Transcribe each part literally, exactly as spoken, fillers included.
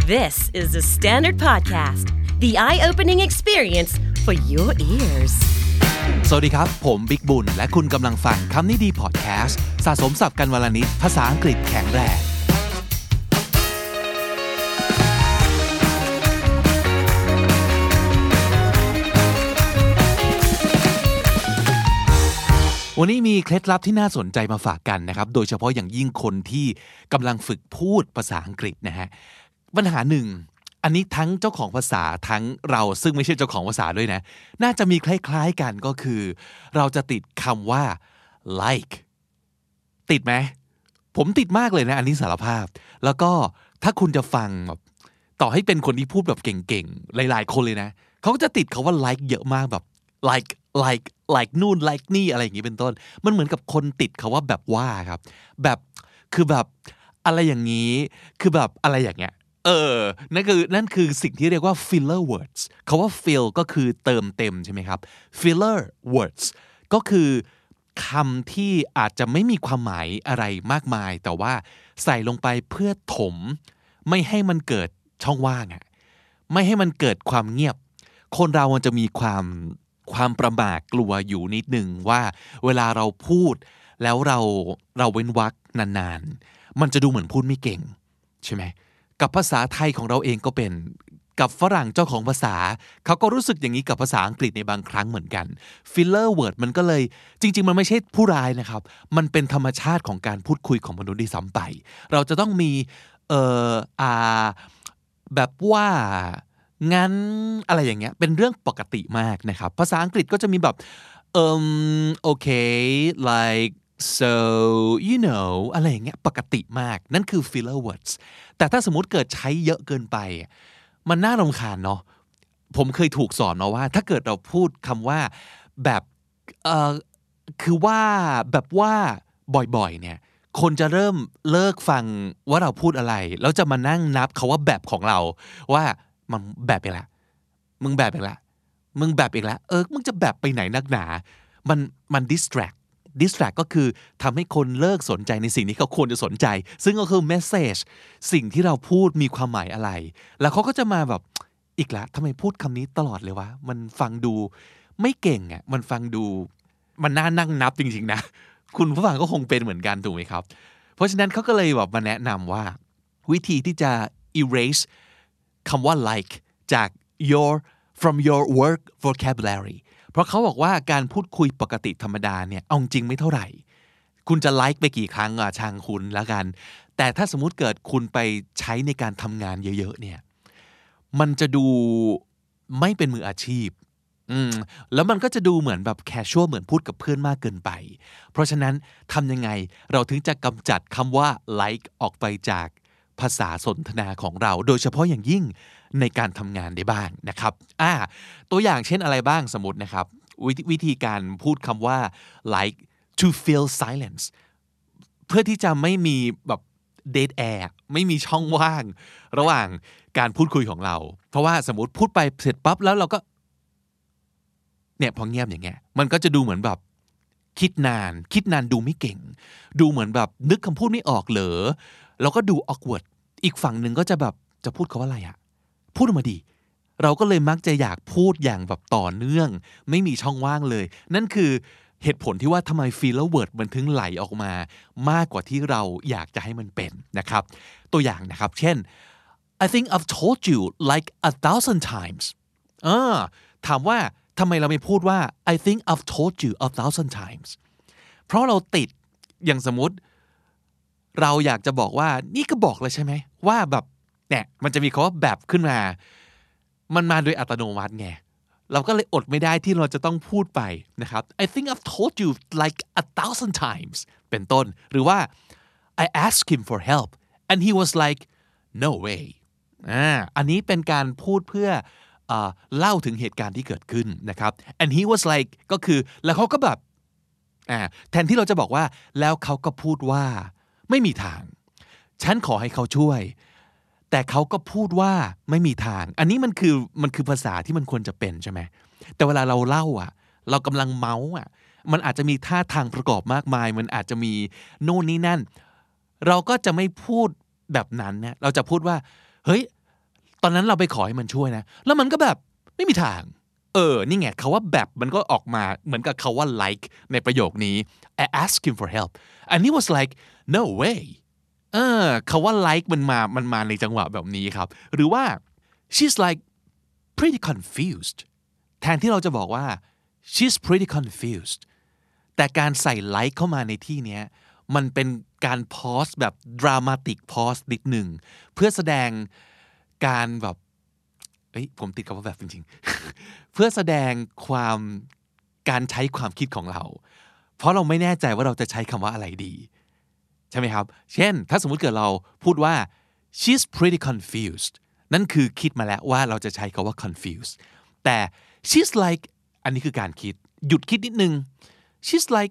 This is the Standard Podcast, the eye-opening experience for your ears. สวัสดีครับผมบิ๊กบุญและคุณกำลังฟังคำนี้ดีพอดแคสต์สะสมศัพท์กันวลนิดภาษาอังกฤษแข็งแรงวันนี้มีเคล็ดลับที่น่าสนใจมาฝากกันนะครับโดยเฉพาะอย่างยิ่งคนที่กำลังฝึกพูดภาษาอังกฤษนะฮะปัญหาหนึ่งอันนี้ทั้งเจ้าของภาษาทั้งเราซึ่งไม่ใช่เจ้าของภาษาด้วยนะน่าจะมีคล้ายๆกันก็คือเราจะติดคำว่า like ติดไหมผมติดมากเลยนะอันนี้สารภาพแล้วก็ถ้าคุณจะฟังแบบต่อให้เป็นคนที่พูดแบบเก่งๆหลายๆคนเลยนะเขาก็จะติดคำว่า like เยอะมากแบบ like like like นู่น like นี่อะไรอย่างนี้เป็นต้นมันเหมือนกับคนติดคำว่าแบบว่าครับแบบคือแบบอะไรอย่างนี้คือแบบอะไรอย่างเงี้ยเออนั่นคือนั่นคือสิ่งที่เรียกว่า filler words คำว่า fill ก็คือเติมเต็มใช่ไหมครับ filler words ก็คือคำที่อาจจะไม่มีความหมายอะไรมากมายแต่ว่าใส่ลงไปเพื่อถมไม่ให้มันเกิดช่องว่างอ่ะไม่ให้มันเกิดความเงียบคนเรามันจะมีความความประหม่ากลัวอยู่นิดนึงว่าเวลาเราพูดแล้วเราเราเว้นวรรคนานๆมันจะดูเหมือนพูดไม่เก่งใช่ไหมกับภาษาไทยของเราเองก็เป็นกับฝรั่งเจ้าของภาษาเขาก็รู้สึกอย่างนี้กับภาษาอังกฤษในบางครั้งเหมือนกัน filler word มันก็เลยจริงๆมันไม่ใช่ผู้ร้ายนะครับมันเป็นธรรมชาติของการพูดคุยของมนุษย์ที่ซ้ำไปเราจะต้องมีเอ่ออ่าแบบว่างั้นอะไรอย่างเงี้ยเป็นเรื่องปกติมากนะครับภาษาอังกฤษก็จะมีแบบเอ่อโอเค like so you know อะไรอย่างเงี้ยปกติมากนั่นคือ filler words แต่ถ้าสมมุติเกิดใช้เยอะเกินไปมันน่ารำคาญเนาะผมเคยถูกสอนมาว่าถ้าเกิดเราพูดคำว่าแบบเอ่อคือว่าแบบว่าบ่อยๆเนี่ยคนจะเริ่มเลิกฟังว่าเราพูดอะไรแล้วจะมานั่งนับคำว่าแบบของเราว่ามันแบบอีกแล้วมึงแบบอีกแล้วมึงแบบอีกแล้วเออมึงจะแบบไปไหนนักหนามันมัน distract distract ก็คือทำให้คนเลิกสนใจในสิ่งที่เขาควรจะสนใจซึ่งก็คือ message สิ่งที่เราพูดมีความหมายอะไรแล้วเขาก็จะมาแบบอีกแล้วทำไมพูดคำนี้ตลอดเลยวะมันฟังดูไม่เก่งอ่ะมันฟังดูมันน่านั่งนับจริงๆนะคุณผู้ฟังก็คงเป็นเหมือนกันถูกไหมครับเพราะฉะนั้นเขาก็เลยแบบมาแนะนำว่าวิธีที่จะ eraseคำว่า like จาก your from your work vocabulary เพราะเขาบอกว่าการพูดคุยปกติธรรมดาเนี่ยเอาจริงไม่เท่าไหร่คุณจะ like ไปกี่ครั้งอ่ะช่างคุณแล้วกันแต่ถ้าสมมุติเกิดคุณไปใช้ในการทำงานเยอะๆเนี่ยมันจะดูไม่เป็นมืออาชีพอืมแล้วมันก็จะดูเหมือนแบบ casual เหมือนพูดกับเพื่อนมากเกินไปเพราะฉะนั้นทำยังไงเราถึงจะกำจัดคำว่า like ออกไปจากภาษาสนทนาของเราโดยเฉพาะอย่างยิ่งในการทำงานได้บ้างนะครับอ่าตัวอย่างเช่นอะไรบ้างสมมตินะครับววิธีการพูดคำว่า like to fill silence เพื่อที่จะไม่มีแบบ dead air ไม่มีช่องว่างระหว่างการพูดคุยของเราเพราะว่าสมมติพูดไปเสร็จปั๊บแล้วเราก็เนี่ยพอเงียบอย่างเงี้ยมันก็จะดูเหมือนแบบคิดนานคิดนานดูไม่เก่งดูเหมือนแบบนึกคำพูดไม่ออกเหรอแล้วก็ดู awkward อีกฝั่งหนึ่งก็จะแบบจะพูดคำว่าอะไรอะพูดออกมาดีเราก็เลยมักจะอยากพูดอย่างแบบต่อเนื่องไม่มีช่องว่างเลยนั่นคือเหตุผลที่ว่าทำไม filler word มันถึงไหลออกมามากกว่าที่เราอยากจะให้มันเป็นนะครับตัวอย่างนะครับเช่น I think I've told you like a thousand times อ่าถามว่าทำไมเราไม่พูดว่า I think I've told you a thousand times เพราะเราติดอย่างสมมติเราอยากจะบอกว่านี่ก็บอกเลยใช่ไหมว่าแบบเนี่ยมันจะมีคำว่าแบบขึ้นมามันมาโดยอัตโนมัติไงเราก็เลยอดไม่ได้ที่เราจะต้องพูดไปนะครับ I think I've told you like a thousand times เป็นต้นหรือว่า I asked him for help and he was like no way อ่าอันนี้เป็นการพูดเพื่อเอ่อเล่าถึงเหตุการณ์ที่เกิดขึ้นนะครับ and he was like ก็คือแล้วเขาก็แบบอ่าแทนที่เราจะบอกว่าแล้วเขาก็พูดว่าไม่มีทางฉันขอให้เขาช่วยแต่เขาก็พูดว่าไม่มีทางอันนี้มันคือมันคือภาษาที่มันควรจะเป็นใช่ไหมแต่เวลาเราเล่าอ่ะเรากำลังเมาส์อ่ะมันอาจจะมีท่าทางประกอบมากมายมันอาจจะมีโน่นนี่นั่นเราก็จะไม่พูดแบบนั้นนะเราจะพูดว่าเฮ้ยตอนนั้นเราไปขอให้มันช่วยนะแล้วมันก็แบบไม่มีทางเออนี่ไงคาว่าแบบมันก็ออกมาเหมือนกับคาว่า like ในประโยคนี้ I asked him for help and he was like no way เออคาว่า like มันมามันมาในจังหวะแบบนี้ครับหรือว่า she's like pretty confused แทนที่เราจะบอกว่า she's pretty confused แต่การใส่ like เข้ามาในที่เนี้ยมันเป็นการพอสแบบ dramatic pause นิดหนึ่งเพื่อแสดงการแบบเอ้ยผมติดกับว่าแบบจริงๆ เพื่อแสดงความการใช้ความคิดของเราเพราะเราไม่แน่ใจว่าเราจะใช้คำว่าอะไรดีใช่ไหมครับเช่นถ้าสมมุติเกิดเราพูดว่า she's pretty confused นั่นคือคิดมาแล้วว่าเราจะใช้คำว่า confused แต่ she's like อันนี้คือการคิดหยุดคิดนิดนึง she's like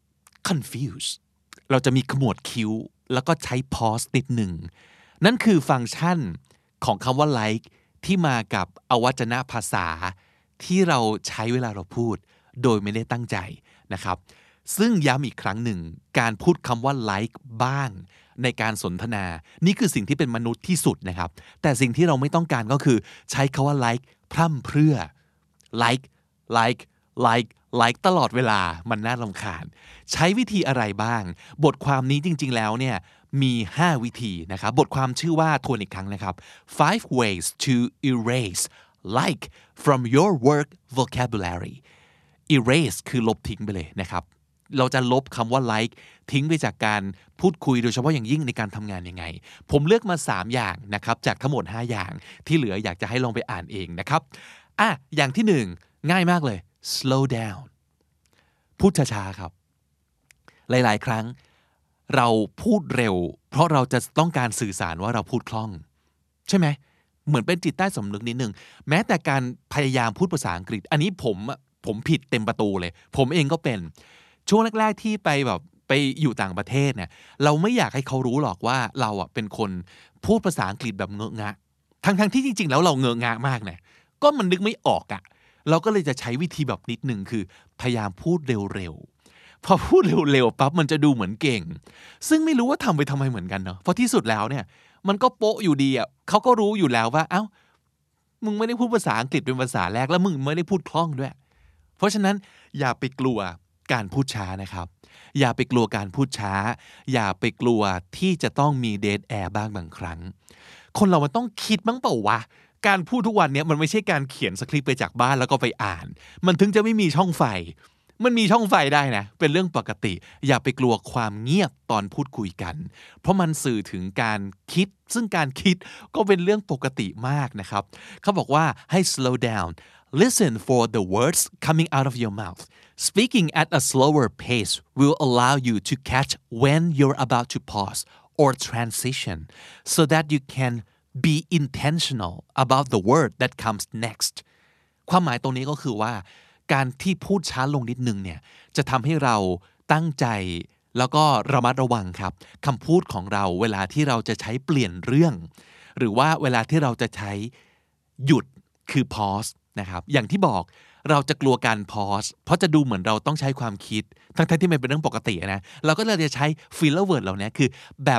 confused เราจะมีขมวดคิ้วแล้วก็ใช้ pause นิดหนึ่งนั่นคือฟังก์ชันของคำว่า like ที่มากับอวัจนภาษาที่เราใช้เวลาเราพูดโดยไม่ได้ตั้งใจนะครับซึ่งย้ำอีกครั้งหนึ่งการพูดคำว่า like บ้างในการสนทนานี่คือสิ่งที่เป็นมนุษย์ที่สุดนะครับแต่สิ่งที่เราไม่ต้องการก็คือใช้คำว่า like พร่ำเพรื่อ like like like like ตลอดเวลามันน่ารำคาญใช้วิธีอะไรบ้างบทความนี้จริงๆแล้วเนี่ยมีห้าวิธีนะครับบทความชื่อว่าทวนอีกครั้งนะครับ five ways to erase like from your work vocabulary erase คือลบทิ้งไปเลยนะครับเราจะลบคำว่า like ทิ้งไปจากการพูดคุยโดยเฉพาะอย่างยิ่งในการทำงานยังไงผมเลือกมาสามอย่างนะครับจากทั้งหมดห้าอย่างที่เหลืออยากจะให้ลองไปอ่านเองนะครับอ่ะอย่างที่หนึ่งง่ายมากเลย slow down พูดช้าๆครับหลายๆครั้งเราพูดเร็วเพราะเราจะต้องการสื่อสารว่าเราพูดคล่องใช่ไหมเหมือนเป็นจิตใต้สำนึกนิดนึงแม้แต่การพยายามพูดภาษาอังกฤษอันนี้ผมผมผิดเต็มประตูเลยผมเองก็เป็นช่วงแรกๆที่ไปแบบไปอยู่ต่างประเทศเนี่ยเราไม่อยากให้เขารู้หรอกว่าเราอ่ะเป็นคนพูดภาษาอังกฤษแบบเงอะงะทั้งๆที่จริงๆแล้วเราเงอะงะมากนะก็มันนึกไม่ออกอ่ะเราก็เลยจะใช้วิธีแบบนิดนึงคือพยายามพูดเร็วๆพอพูดเร็วๆปั๊บมันจะดูเหมือนเก่งซึ่งไม่รู้ว่าทำไปทำไมเหมือนกันเนาะเพราะที่สุดแล้วเนี่ยมันก็โป๊ะอยู่ดีอ่ะเขาก็รู้อยู่แล้วว่าเอ้ามึงไม่ได้พูดภาษาอังกฤษเป็นภาษาแรกแล้วมึงไม่ได้พูดคล่องด้วยเพราะฉะนั้นอย่าไปกลัวการพูดช้านะครับอย่าไปกลัวการพูดช้าอย่าไปกลัวที่จะต้องมีเดดแอร์บ้างบางครั้งคนเรามันต้องคิดบ้างเปล่าวะการพูดทุกวันนี้มันไม่ใช่การเขียนสคริปต์ไปจากบ้านแล้วก็ไปอ่านมันถึงจะไม่มีช่องไฟมันมีช่องไฟได้นะเป็นเรื่องปกติอย่าไปกลัวความเงียบตอนพูดคุยกันเพราะมันสื่อถึงการคิดซึ่งการคิดก็เป็นเรื่องปกติมากนะครับเขาบอกว่าให้ slow down listen for the words coming out of your mouth speaking at a slower pace will allow you to catch when you're about to pause or transition so that you can be intentional about the word that comes next ความหมายตรงนี้ก็คือว่าการที่พูดช้าลงนิดนึงเนี่ยจะทำให้เราตั้งใจแล้วก็ระมัดระวังครับคำพูดของเราเวลาที่เราจะใช้เปลี่ยนเรื่องหรือว่าเวลาที่เราจะใช้หยุดคือ pause นะครับอย่างที่บอกเราจะกลัวการ pause เพราะจะดูเหมือนเราต้องใช้ความคิดทั้งๆที่มันเป็นเรื่องปกตินะเราก็เลยจะใช้ filler word เหล่านี้คือแบบ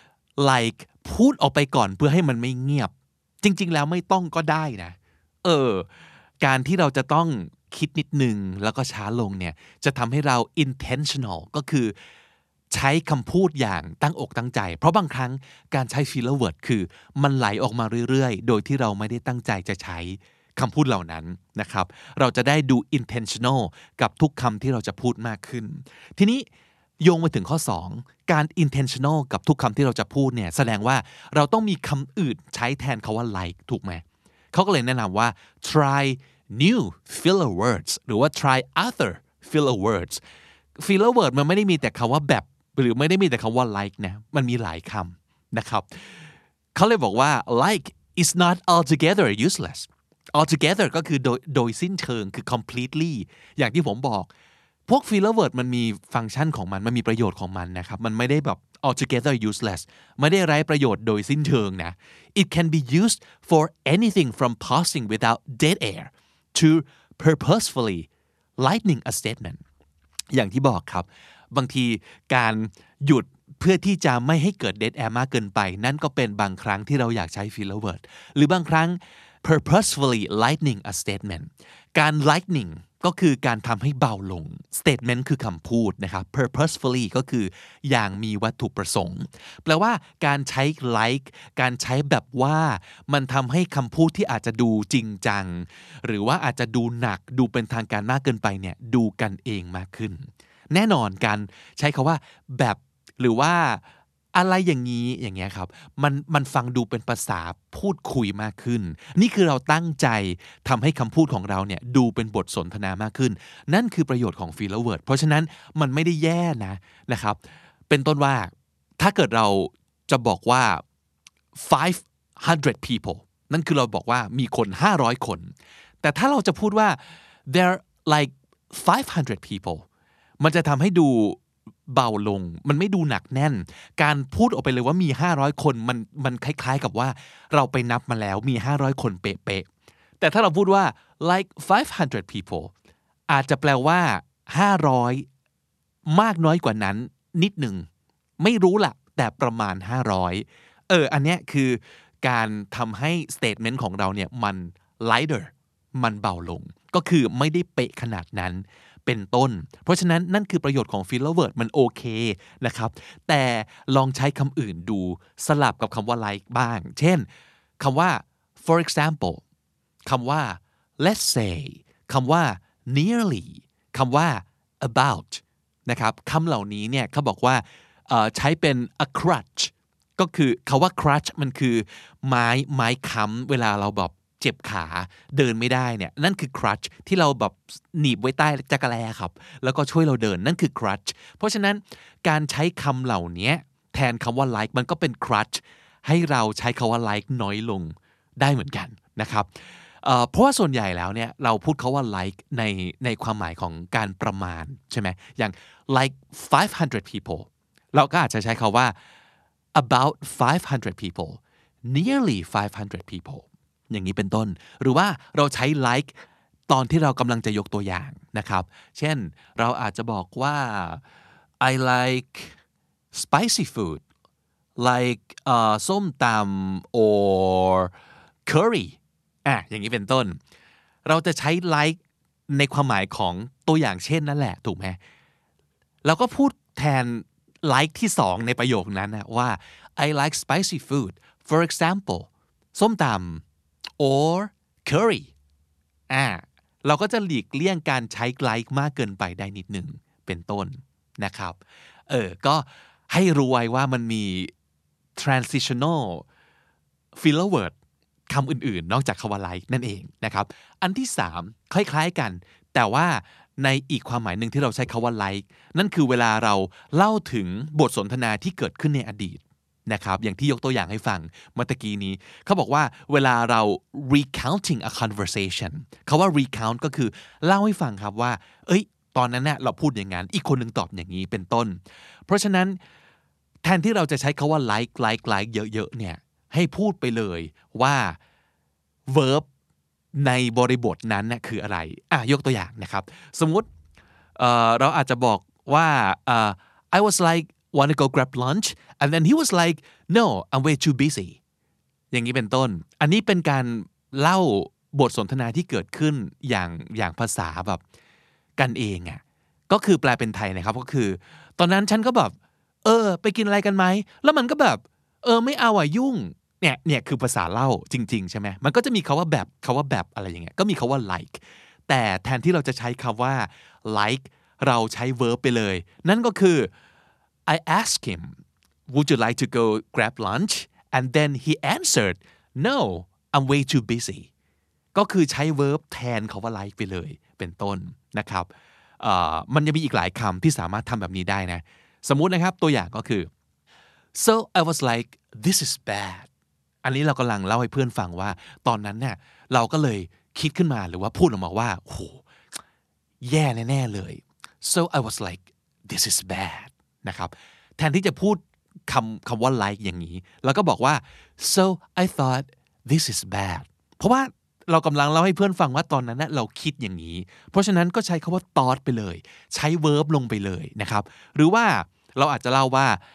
like พูดออกไปก่อนเพื่อให้มันไม่เงียบจริงๆแล้วไม่ต้องก็ได้นะเออการที่เราจะต้องคิดนิดนึงแล้วก็ช้าลงเนี่ยจะทำให้เรา intentional ก็คือใช้คำพูดอย่างตั้งอกตั้งใจเพราะบางครั้งการใช้ filler word คือมันไหลออกมาเรื่อยๆโดยที่เราไม่ได้ตั้งใจจะใช้คำพูดเหล่านั้นนะครับเราจะได้ดู intentional กับทุกคำที่เราจะพูดมากขึ้นทีนี้โยงมาถึงข้อสองการ intentional กับทุกคำที่เราจะพูดเนี่ยแสดงว่าเราต้องมีคำอื่นใช้แทนคาว่า like ถูกไหมเขาก็เลยแนะนำว่า try new filler words หรือว่า try other filler words filler word มันไม่ได้มีแต่คำว่าแบบหรือไม่ได้มีแต่คำว่า like นะมันมีหลายคำนะครับเขาเลยบอกว่า like is not altogether useless altogether ก็คือโดยโดยสิ้นเชิงคือ completely อย่างที่ผมบอกพวก filler word มันมีฟังก์ชันของมันมันมีประโยชน์ของมันนะครับมันไม่ได้แบบ altogether useless ไม่ได้ไร้ประโยชน์โดยสิ้นเชิงนะ it can be used for anything from pausing without dead air to purposefully lightening a statement อย่างที่บอกครับบางทีการหยุดเพื่อที่จะไม่ให้เกิด dead air มากเกินไปนั่นก็เป็นบางครั้งที่เราอยากใช้ filler word หรือบางครั้ง purposefully lightening a statement การ lightening ก็คือการทำให้เบาลง statement คือคำพูดนะครับ purposefully ก็คืออย่างมีวัตถุประสงค์แปลว่าการใช้ like การใช้แบบว่ามันทำให้คำพูดที่อาจจะดูจริงจังหรือว่าอาจจะดูหนักดูเป็นทางการมากเกินไปเนี่ยดูกันเองมากขึ้นแน่นอนการใช้คำว่าแบบหรือว่าอะไรอย่างนี้อย่างเงี้ยครับมันมันฟังดูเป็นภาษาพูดคุยมากขึ้นนี่คือเราตั้งใจทำให้คำพูดของเราเนี่ยดูเป็นบทสนทนามากขึ้นนั่นคือประโยชน์ของ filler word เพราะฉะนั้นมันไม่ได้แย่นะนะครับเป็นต้นว่าถ้าเกิดเราจะบอกว่า five hundred people นั่นคือเราบอกว่ามีคนห้าร้อยคนแต่ถ้าเราจะพูดว่า there like five hundred people มันจะทำให้ดูเบาลงมันไม่ดูหนักแน่นการพูดออกไปเลยว่ามีห้าร้อยคนมันมันคล้ายๆกับว่าเราไปนับมาแล้วมีห้าร้อยคนเป๊ะๆแต่ถ้าเราพูดว่า like five hundred people อาจจะแปลว่าห้าร้อยมากน้อยกว่านั้นนิดหนึ่งไม่รู้ล่ะแต่ประมาณห้าร้อยเอออันเนี้ยคือการทำให้ statement ของเราเนี่ยมัน lighter มันเบาลงก็คือไม่ได้เป๊ะขนาดนั้นเป็นต้นเพราะฉะนั้นนั่นคือประโยชน์ของ filler word มันโอเคนะครับแต่ลองใช้คำอื่นดูสลับกับคำว่า like บ้างเช่นคำว่า for example คำว่า let's say คำว่า nearly คำว่า about นะครับคำเหล่านี้เนี่ยเขาบอกว่าใช้เป็น a crutch ก็คือคำว่า crutch มันคือไม้ไม้ค้ำเวลาเราแบบเจ็บขาเดินไม่ได้เนี่ยนั่นคือ crutch ที่เราแบบหนีบไว้ใต้จักรแลครับแล้วก็ช่วยเราเดินนั่นคือ crutch เพราะฉะนั้นการใช้คำเหล่านี้แทนคำว่า like มันก็เป็น crutch ให้เราใช้คำว่า like น้อยลงได้เหมือนกันนะครับเอ่อเพราะว่าส่วนใหญ่แล้วเนี่ยเราพูดคำว่า like ในในความหมายของการประมาณใช่ไหมอย่าง like five hundred people เราก็อาจจะใช้คำว่า about five hundred people nearly five hundred peopleอย่างนี้เป็นต้นหรือว่าเราใช้ like ตอนที่เรากำลังจะยกตัวอย่างนะครับเช่นเราอาจจะบอกว่า I like spicy food like เอ่อส้มตำ or curry อ่ะอย่างนี้เป็นต้นเราจะใช้ like ในความหมายของตัวอย่างเช่นนั่นแหละถูกไหมเราก็พูดแทน like ที่สองในประโยคนั้นนะว่า I like spicy food for example ส้มตำor curry อ่าเราก็จะหลีกเลี่ยงการใช้ like มากเกินไปได้นิดหนึ่งเป็นต้นนะครับเออก็ให้รู้ไว้ว่ามันมี transitional filler word คำอื่นๆนอกจากคำว่า like นั่นเองนะครับอันที่สามคล้ายๆกันแต่ว่าในอีกความหมายหนึ่งที่เราใช้คำว่า like นั่นคือเวลาเราเล่าถึงบทสนทนาที่เกิดขึ้นในอดีตนะครับอย่างที่ยกตัวอย่างให้ฟังเมื่อกี้นี้เขาบอกว่าเวลาเรา recounting a conversation คำว่า recount ก็คือเล่าให้ฟังครับว่าเอ้ยตอนนั้นน่ะเราพูดอย่างนั้นอีกคนนึงตอบอย่างนี้เป็นต้นเพราะฉะนั้นแทนที่เราจะใช้คำว่า like like like เยอะๆเนี่ยให้พูดไปเลยว่า verb ในบริบทนั้นน่ะคืออะไรอ่ะยกตัวอย่างนะครับสมมุติเอ่อเราอาจจะบอกว่าเอ่อ I was like want to go grab lunch and then he was like no I'm way too busy อย่างนี้เป็นต้นอันนี้เป็นการเล่าบทสนทนาที่เกิดขึ้นอย่างอย่างภาษาแบบกันเองอ่ะก็คือแปลเป็นไทยนะครับก็คือตอนนั้นฉันก็แบบเออไปกินอะไรกันไหมแล้วมันก็แบบเออไม่เอาอ่ะยุ่งเนี่ยเนี่ยคือภาษาเล่าจริงๆใช่ไหมมันก็จะมีคำว่าแบบคำว่าแบบอะไรอย่างเงี้ยก็มีคำว่า like แต่แทนที่เราจะใช้คำว่า like เราใช้ verb ไปเลยนั่นก็คือ I asked him would you like to go grab lunch and then he answered no I'm way too busy ก็คือใช้ verb แทนคำว่า like ไปเลยเป็นต้นนะครับมันจะมีอีกหลายคำที่สามารถทำแบบนี้ได้นะสมมุตินะครับตัวอย่างก็คือ so I was like this is bad อันนี้เรากำลังเล่าให้เพื่อนฟังว่าตอนนั้นเนี่ยเราก็เลยคิดขึ้นมาหรือว่าพูดออกมาว่าโอ้โหแย่แน่ๆเลย so I was like this is bad นะครับแทนที่จะพูดคำคำว่า like อย่างนี้แล้วก็บอกว่า so I thought this is bad เพราะว่าเรากำลังเล่าให้เพื่อนฟังว่าตอนนั้นนะเราคิดอย่างนี้เพราะฉะนั้นก็ใช้คำว่า thought ไปเลยใช้ verb ลงไปเลยนะครับหรือว่าเราอาจจะเล่าว่า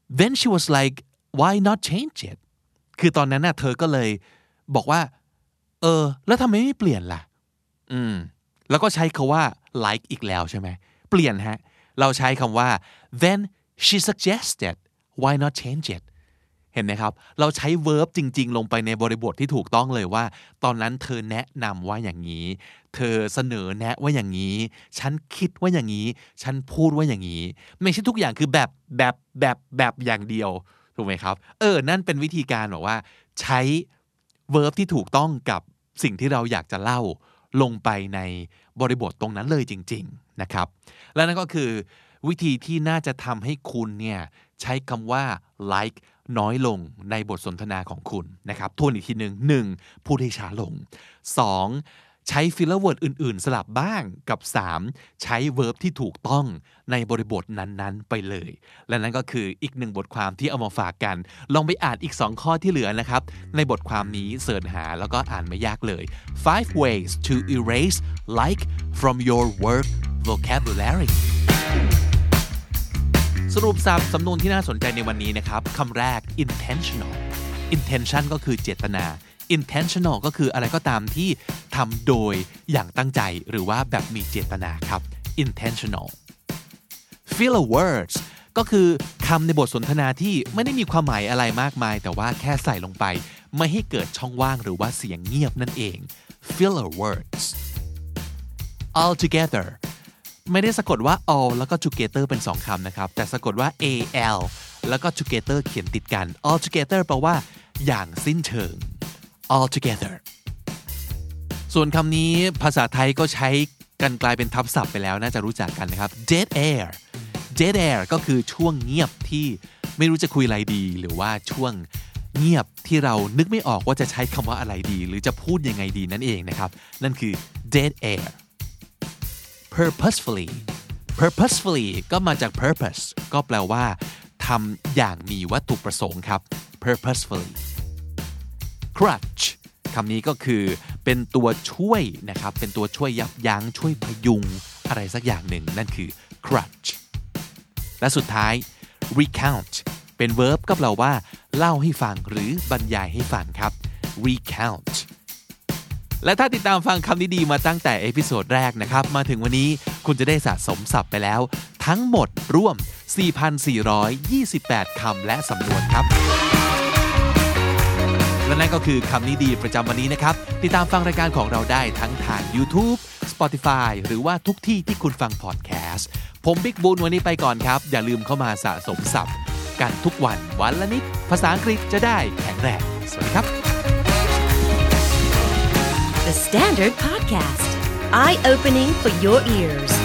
then she was like why not change it คือตอนนั้นน่ะเธอก็เลยบอกว่าเออแล้วทำไมไม่เปลี่ยนล่ะอืมแล้วก็ใช้คำว่า like อีกแล้วใช่ไหมเปลี่ยนฮะเราใช้คำว่า then she suggested why not change it เห็นไหมครับเราใช้ verb จริงๆลงไปในบริบทที่ถูกต้องเลยว่าตอนนั้นเธอแนะนำว่าอย่างนี้เธอเสนอแนะว่าอย่างนี้ฉันคิดว่าอย่างนี้ฉันพูดว่าอย่างนี้ไม่ใช่ทุกอย่างคือแบบแบบแบบแบบอย่างเดียวถูกไหมครับเออนั่นเป็นวิธีการบอกว่าใช้ verb ที่ถูกต้องกับสิ่งที่เราอยากจะเล่าลงไปในบริบทตรงนั้นเลยจริงๆนะครับและนั่นก็คือวิธีที่น่าจะทำให้คุณเนี่ยใช้คำว่า like น้อยลงในบทสนทนาของคุณนะครับทวนอีกทีหนึ่งหนึ่งพูดให้ช้าลงสองใช้ filler word อื่นๆสลับบ้างกับสามใช้ verb ที่ถูกต้องในบริบทนั้นๆไปเลยและนั่นก็คืออีกหนึ่งบทความที่เอามาฝากกันลองไปอ่านอีกสองข้อที่เหลือนะครับในบทความนี้เสิร์ชหาแล้วก็อ่านไม่ยากเลย five ways to erase like from your work vocabulary สรุปสับสำนวนที่น่าสนใจในวันนี้นะครับคำแรก intentional intention ก็คือเจตนา intentional ก็คืออะไรก็ตามที่ทำโดยอย่างตั้งใจหรือว่าแบบมีเจตนาครับ intentional filler words ก็คือคำในบทสนทนาที่ไม่ได้มีความหมายอะไรมากมายแต่ว่าแค่ใส่ลงไปไม่ให้เกิดช่องว่างหรือว่าเสียงเงียบนั่นเอง filler words altogether ไม่ได้สะกดว่า all แล้วก็ together เป็นสองคำนะครับแต่สะกดว่า al แล้วก็ together เขียนติดกัน altogether แปลว่าอย่างสิ้นเชิง altogether ส่วนคำนี้ภาษาไทยก็ใช้กันกลายเป็นทับศัพท์ไปแล้วน่าจะรู้จักกันนะครับ dead air dead air ก็คือช่วงเงียบที่ไม่รู้จะคุยอะไรดีหรือว่าช่วงเงียบที่เรานึกไม่ออกว่าจะใช้คำว่าอะไรดีหรือจะพูดยังไงดีนั่นเองนะครับนั่นคือ dead air purposefully purposefully ก็มาจาก purpose ก็แปลว่าทำอย่างมีวัตถุประสงค์ครับ purposefully crutch คำนี้ก็คือเป็นตัวช่วยนะครับเป็นตัวช่วยยับยั้งช่วยพยุงอะไรสักอย่างหนึ่งนั่นคือ crutch และสุดท้าย recount เป็น verb ก็แปลว่าเล่าให้ฟังหรือบรรยายให้ฟังครับ recount และถ้าติดตามฟังคำนี้ดีมาตั้งแต่เอพิโซดแรกนะครับมาถึงวันนี้คุณจะได้สะสมศัพท์ไปแล้วทั้งหมดรวม สี่พันสี่ร้อยยี่สิบแปด คำและสำนวนครับและนั่นก็คือคำนี้ดีประจำวันนี้นะครับติดตามฟังรายการของเราได้ทั้งทาง YouTube Spotify หรือว่าทุกที่ที่คุณฟังพอดแคสต์ผมบิ๊กบูนวันนี้ไปก่อนครับอย่าลืมเข้ามาสะสมศัพท์กันทุกวันวันละนิดภาษาอังกฤษจะได้แข็งแรงสวัสดีครับ The Standard Podcast Eye Opening for Your Ears